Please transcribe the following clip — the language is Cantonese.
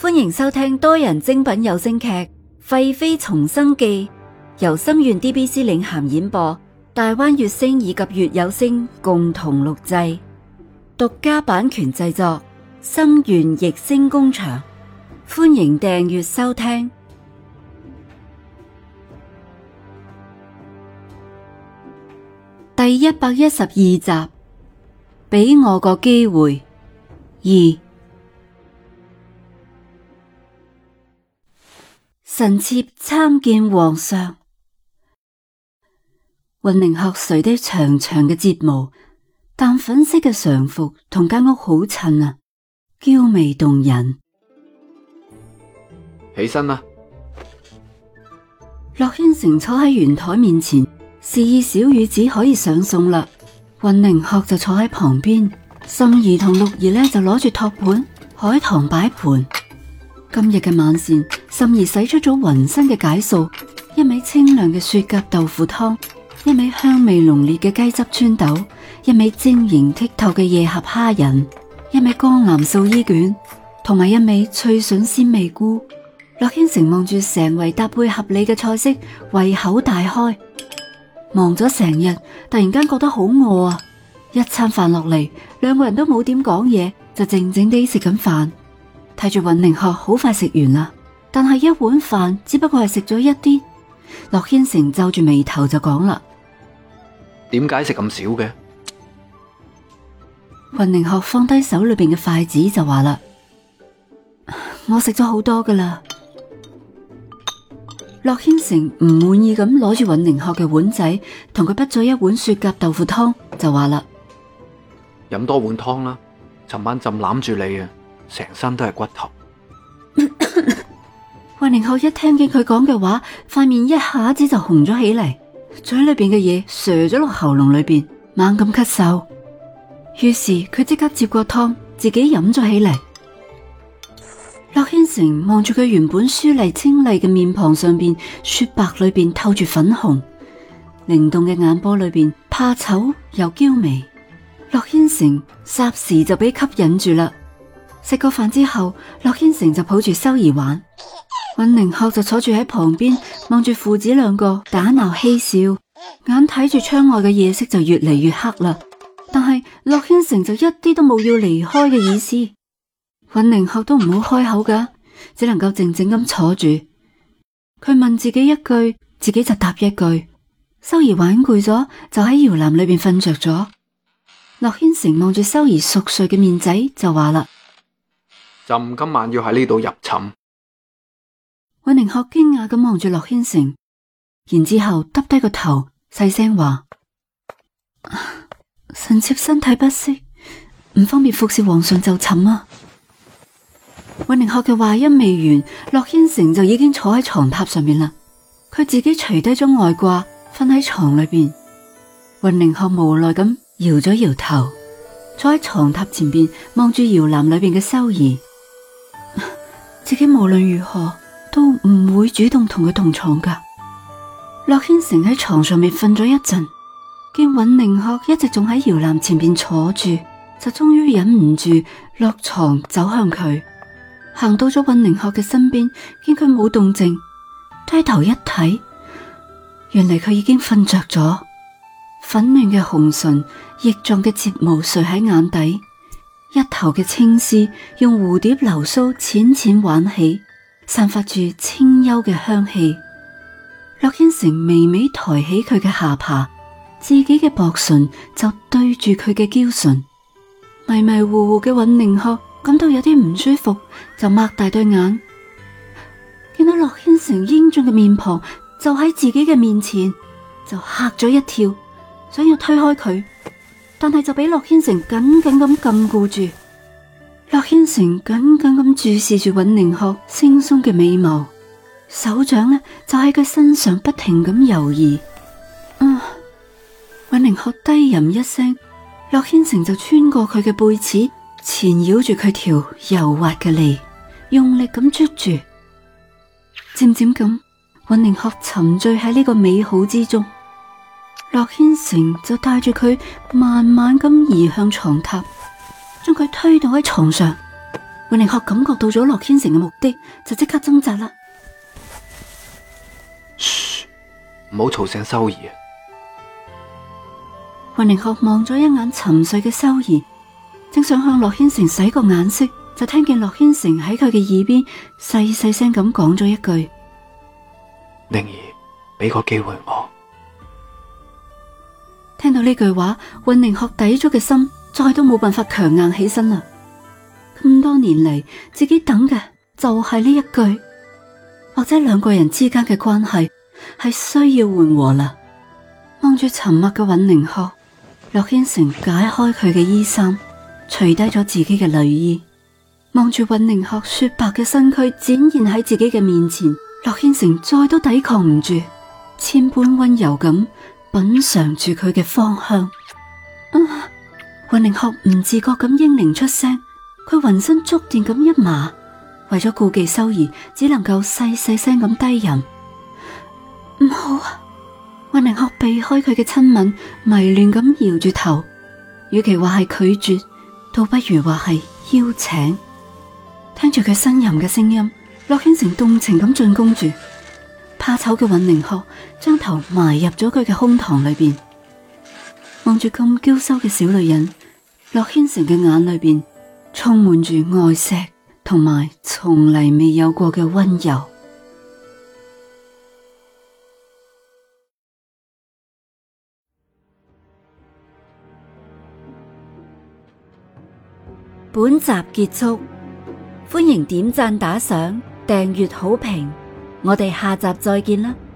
歡迎收聽多人精品有聲劇《廢妃重生記》，由心願 DBC 領銜演播，大灣月星以及月有聲共同錄製，獨家版權製作，心願逸聲工場。歡迎訂閱收聽。第112集，俾我個機會2。臣妾參見皇上。雲寧鶴垂低長長嘅睫毛，淡粉色嘅常服同間屋好襯啊，嬌媚動人。 起身啦！ 駱軒成坐喺圓台面前，示意小雨子可以上餸啦。雲寧鶴就坐喺旁邊，心兒同六兒呢就攞住托盤、海棠擺盤。今日嘅晚膳，心兒使出咗渾身嘅解數，一味清涼嘅雪蛤豆腐湯，一味香味濃烈嘅雞汁川豆，一味晶瑩剔透嘅夜合蝦仁，一味江南素衣卷，同埋一味脆筍鮮味菇。駱軒成望住成圍搭配合理嘅菜式，胃口大開。忙咗成日，突然間覺得好餓啊！一餐飯落嚟，兩個人都冇點講嘢，就靜靜地食緊飯。睇住雲寧鶴好快食完啦，但係一碗飯只不過係食咗一啲。駱軒成皺住眉頭就講啦： 點解食咁少嘅？ 雲寧鶴放低手裏邊嘅筷子就話啦：我食咗好多噶啦。駱軒成唔滿意咁攞住雲寧鶴嘅碗仔，同佢滗咗一碗雪蛤豆腐湯，就話啦： 飲多碗湯啦，尋晚朕攬住你啊，成身都係骨頭。 雲寧鶴一聽見佢講嘅話，塊面一下子就紅咗起嚟，嘴裏邊嘅嘢射咗落喉嚨裏邊，猛咁咳嗽。於是佢即刻接過湯，自己飲咗起嚟。駱軒成望住佢原本舒麗清麗嘅面龐上邊，雪白裏邊透住粉紅，靈動嘅眼波裏邊怕醜又嬌媚。駱軒成霎時就俾吸引住啦。食過飯之後，駱軒成就抱住修兒玩，雲寧鶴就坐住喺旁邊望住父子兩個打鬧嬉笑，眼睇住窗外嘅夜色就越嚟越黑啦。但係駱軒成就一啲都冇要離開嘅意思，雲寧鶴都唔好開口噶，只能夠靜靜咁坐住。佢問自己一句，自己就答一句。修兒玩攰咗，就喺搖籃裏邊瞓着咗。駱軒成望住修兒熟睡嘅面仔就話啦： 朕今晚要喺呢度入寢。 雲寧鶴驚訝咁望住駱軒成，然之後耷低個頭，細聲話：臣妾身體不適，唔方便服侍皇上就寢啊。雲寧鶴嘅話音未完，駱軒成就已經坐喺床榻上面啦。佢自己除低咗外褂，瞓喺床裏邊。雲寧鶴無奈咁搖咗搖頭，坐喺床榻前邊望住搖籃裏邊嘅修兒。自己無論如何都唔會主動同佢同床噶。駱軒成喺床上面瞓咗一陣，見雲寧鶴一直仲喺搖籃前邊坐住，就終於忍唔住落床走向佢。行到咗雲寧鶴嘅身邊，見佢冇動靜，低頭一睇，原嚟佢已經瞓着咗。粉嫩嘅紅唇，翼狀嘅睫毛垂喺眼底，一頭嘅青絲用蝴蝶流蘇淺淺挽起，散發住清幽嘅香氣。駱軒成微微抬起佢嘅下巴，自己嘅薄唇就對住佢嘅嬌唇。迷迷糊糊嘅雲寧鶴感到有啲唔舒服，就擘大對眼，見到駱軒成英俊嘅面龐就喺自己嘅面前，就嚇咗一跳，想要推開佢，但係就俾駱軒成緊緊咁禁錮住。駱軒成緊緊咁注視住雲寧鶴惺忪嘅美眸，手掌呢就喺佢身上不停咁游移。雲寧鶴低吟一聲，駱軒成就穿過佢嘅背齒，纏繞住佢條柔滑嘅脷，用力咁捉住。漸漸咁，雲寧鶴沉醉喺呢個美好之中。駱軒成就帶住佢慢慢咁移向床榻，將佢推到喺床上。 尹寧鶴感覺到咗洛軒成嘅目的，就即刻掙扎啦。 噓，唔好嘈醒修兒啊！ 尹寧鶴望咗一眼沉睡嘅修兒，正想向洛軒成使個眼色，就聽見洛軒成喺佢嘅耳邊細細聲咁講咗一句： 寧兒，俾個機會我。 聽到呢句話，尹寧鶴抵咗嘅心再都冇辦法強硬起身啦。咁多年嚟，自己等嘅就係呢一句，或者兩個人之間嘅關係係需要緩和啦。望住沉默嘅尹寧鶴，洛軒成解開佢嘅衣衫，除低咗自己嘅內衣，望住尹寧鶴雪白嘅身軀展現喺自己嘅面前，洛軒成再都抵抗唔住，千般溫柔咁品嘗住佢嘅芳香。尹寧鶴唔自覺咁應鈴出聲。佢渾身觸電咁一麻，為咗顧忌修兒，只能夠細細聲咁低吟：唔好啊！尹寧鶴避開佢嘅親吻，迷亂咁搖住頭，與其話係拒絕，倒不如話係邀請。聽住佢呻吟嘅聲音，洛軒成動情咁進攻住。怕醜嘅尹寧鶴將頭埋入咗佢嘅胸膛裏邊，望住咁嬌羞嘅小女人，洛軒成嘅眼裏邊充滿住愛錫同埋從嚟未有過嘅溫柔。本集結束，歡迎點讚打賞、訂閱好評，我哋下集再見啦！